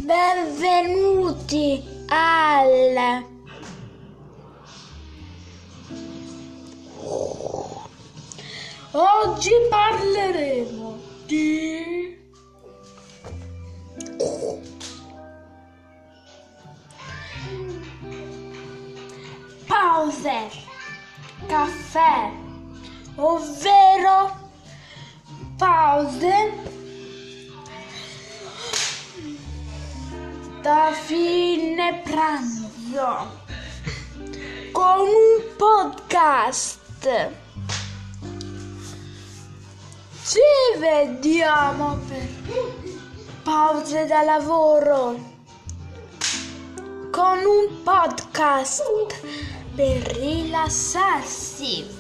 Benvenuti al Oggi parleremo di pause caffè, ovvero pause da fine pranzo con un podcast. Ci vediamo per pause da lavoro con un podcast per rilassarsi.